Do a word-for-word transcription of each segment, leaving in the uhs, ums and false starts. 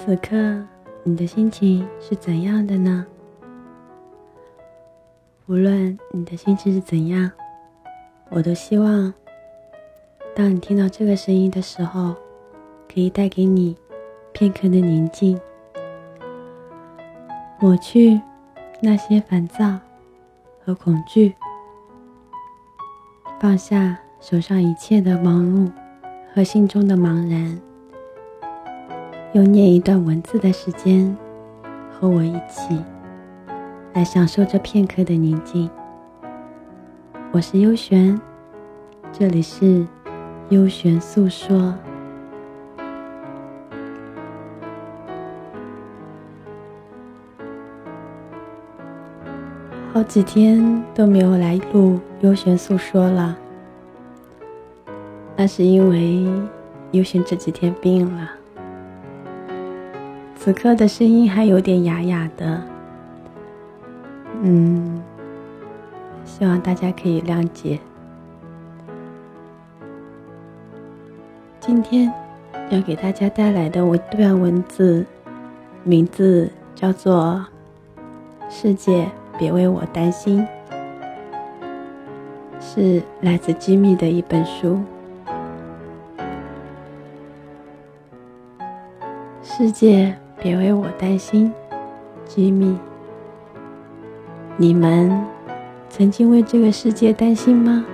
此刻你的心情是怎样的呢？无论你的心情是怎样，我都希望当你听到这个声音的时候，可以带给你片刻的宁静，抹去那些烦躁和恐惧，放下手上一切的忙碌和心中的茫然，用念一段文字的时间和我一起来享受这片刻的宁静。我是幽璇，这里是幽璇诉说。好几天都没有来录幽璇诉说了，那是因为幽璇这几天病了，此刻的声音还有点哑哑的，嗯，希望大家可以谅解。今天要给大家带来的一段文字，名字叫做《世界别为我担心》，是来自机密的一本书。世界别为我担心，机密。你们曾经为这个世界担心吗？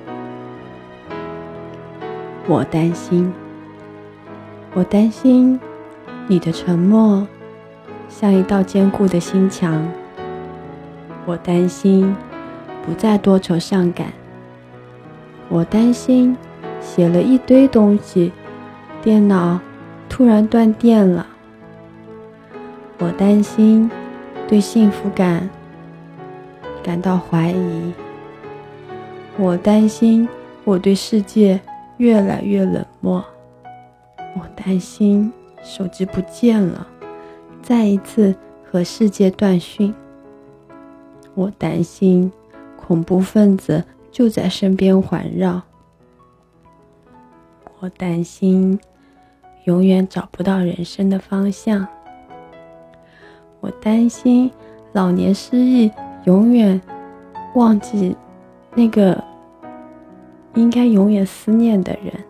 我担心，我担心你的沉默像一道坚固的心墙。我担心不再多愁善感，我担心写了一堆东西，电脑突然断电了。我担心对幸福感感到怀疑，我担心我对世界越来越冷漠，我担心手机不见了，再一次和世界断讯。我担心恐怖分子就在身边环绕，我担心永远找不到人生的方向，我担心老年失忆永远忘记那个应该永远思念的人，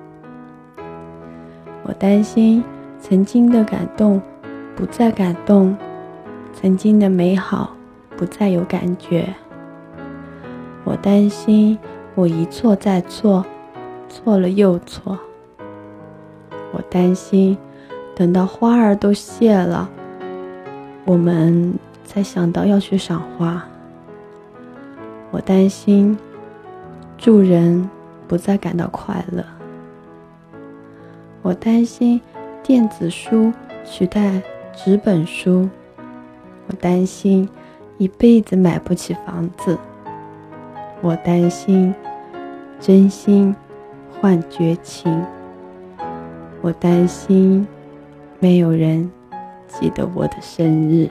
我担心曾经的感动不再感动，曾经的美好不再有感觉，我担心我一错再错，错了又错，我担心等到花儿都谢了，我们才想到要去赏花，我担心助人不再感到快乐，我担心电子书取代纸本书，我担心一辈子买不起房子，我担心真心换绝情，我担心没有人记得我的生日。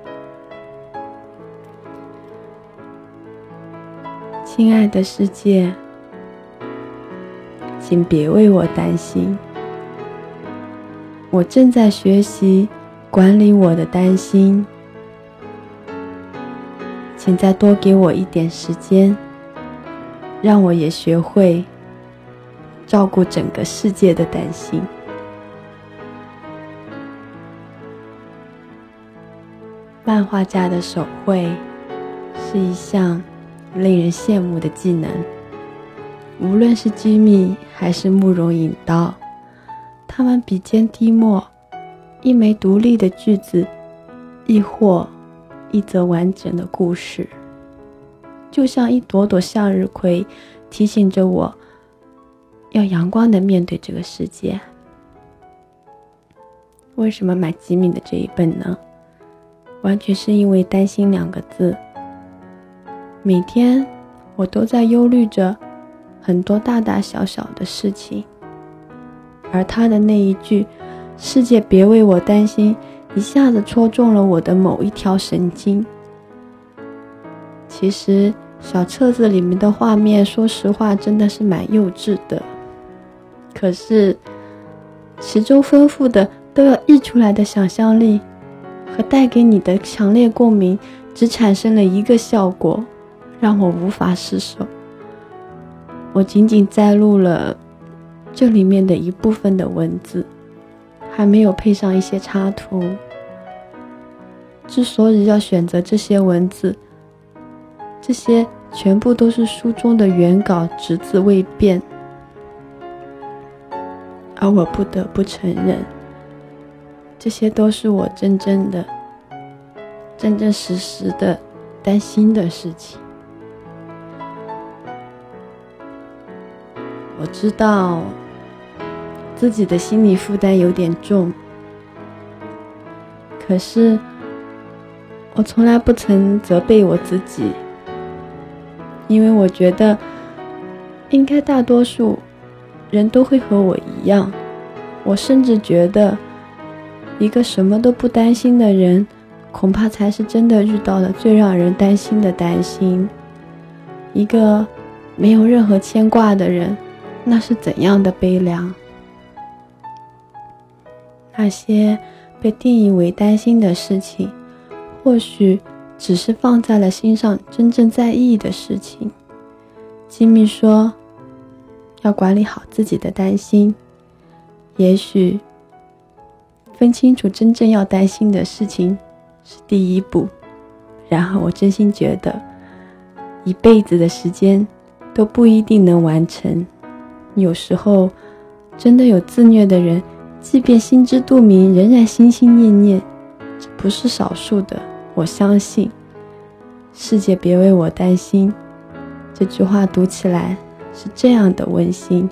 亲爱的世界，请别为我担心，我正在学习管理我的担心，请再多给我一点时间，让我也学会照顾整个世界的担心。漫画家的手绘是一项令人羡慕的技能，无论是机密还是慕容引刀，他们笔尖滴墨，一枚独立的句子，亦或一则完整的故事，就像一朵朵向日葵，提醒着我要阳光地面对这个世界。为什么买机密的这一本呢？完全是因为担心两个字。每天我都在忧虑着很多大大小小的事情，而他的那一句世界别为我担心，一下子戳中了我的某一条神经。其实小册子里面的画面说实话真的是蛮幼稚的，可是其中丰富的都要溢出来的想象力和带给你的强烈共鸣，只产生了一个效果，让我无法释手。我仅仅摘录了这里面的一部分的文字，还没有配上一些插图。之所以要选择这些文字，这些全部都是书中的原稿，只字未变。而我不得不承认，这些都是我真正的、真真实实的担心的事情。我知道自己的心理负担有点重，可是我从来不曾责备我自己，因为我觉得应该大多数人都会和我一样。我甚至觉得一个什么都不担心的人，恐怕才是真的遇到了最让人担心的担心。一个没有任何牵挂的人，那是怎样的悲凉。那些被定义为担心的事情，或许只是放在了心上真正在意的事情。吉米说要管理好自己的担心，也许分清楚真正要担心的事情是第一步。然而我真心觉得一辈子的时间都不一定能完成。有时候真的有自虐的人，即便心知肚明仍然心心念念，这不是少数的。我相信世界别为我担心，这句话读起来是这样的温馨，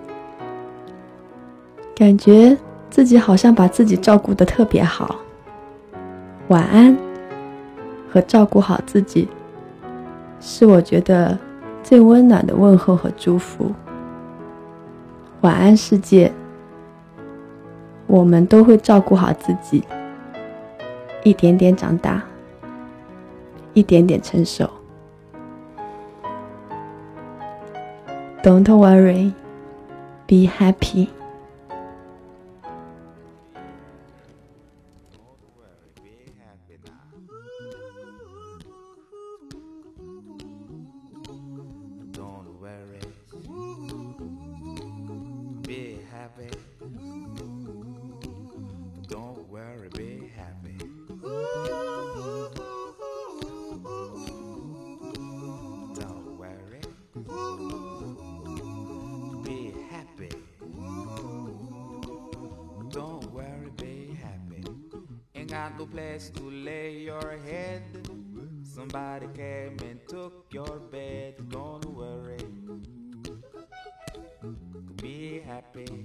感觉自己好像把自己照顾得特别好。晚安和照顾好自己，是我觉得最温暖的问候和祝福。晚安世界，我们都会照顾好自己，一点点长大，一点点成熟。 Don't worry, be happy. Don't worry, be happy. Don't worry, be happy. Don't worry, be happy. Ain't got no place to lay your head. Somebody came and took your bed. Don't worry, be happy.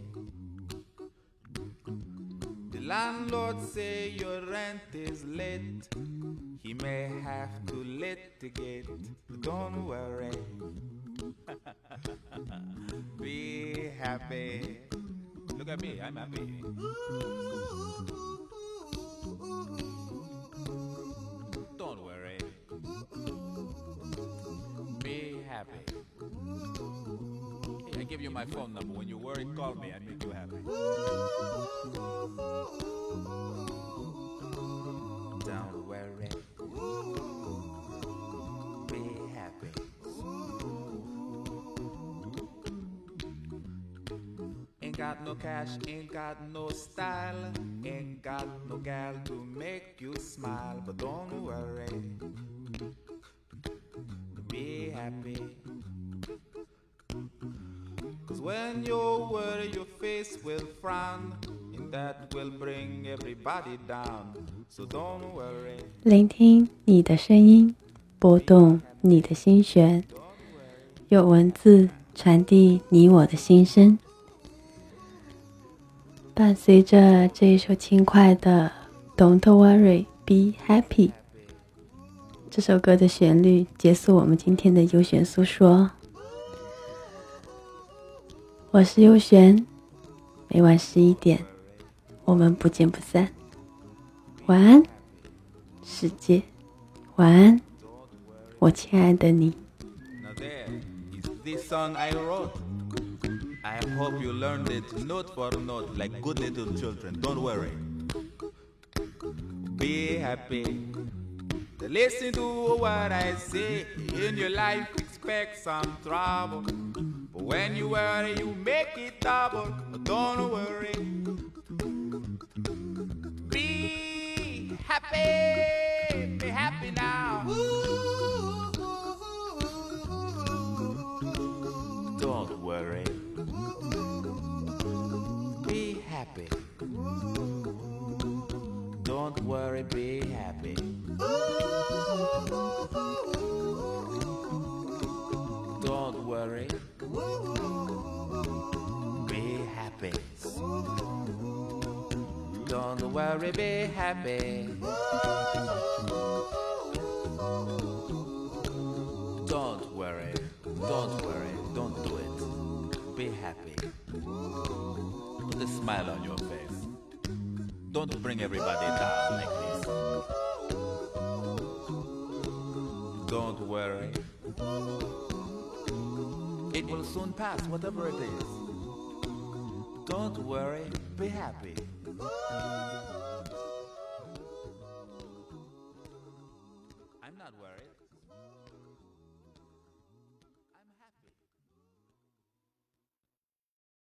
The landlord say your rent is late. He may have to litigate. Don't worry. Be happy. Look at me, I'm happy. Don't worry. Be happy. Hey, I give you my phone number. When you worry, call me. I make you happy. Don't worry. Be happy. Ain't got no cash, ain't got no style, ain't got no gal to make you smile, but don't worry. Be happy. Cause when you worry, your face will frown, and that will bring everybody down. So don't worry. 聆听你的声音，拨动你的心弦，用文字传递你我的心声。伴随着这一首轻快的 Don't worry, be happy 这首歌的旋律，结束我们今天的优璇诉说。我是优璇，每晚十一点，我们不见不散。晚安，世界，晚安，我亲爱的你。 Now there is this song I wrote. I hope you learned it note for note like good little children. Don't worry. be happy. Listen to what I say. In your life, expect some trouble. But when you worry, you make it double. Don't worry. Be happy. Be happy now. Don't worry. Be happy. Don't worry, be happy. Don't worry. Be happy. Don't worry, be happy. Don't worry. Don't worry. Don't do it. Be happy. Put a smile on your face. Don't bring everybody down like this. Don't worry. It will soon pass, whatever it is. Don't worry, be happy. I'm not worried.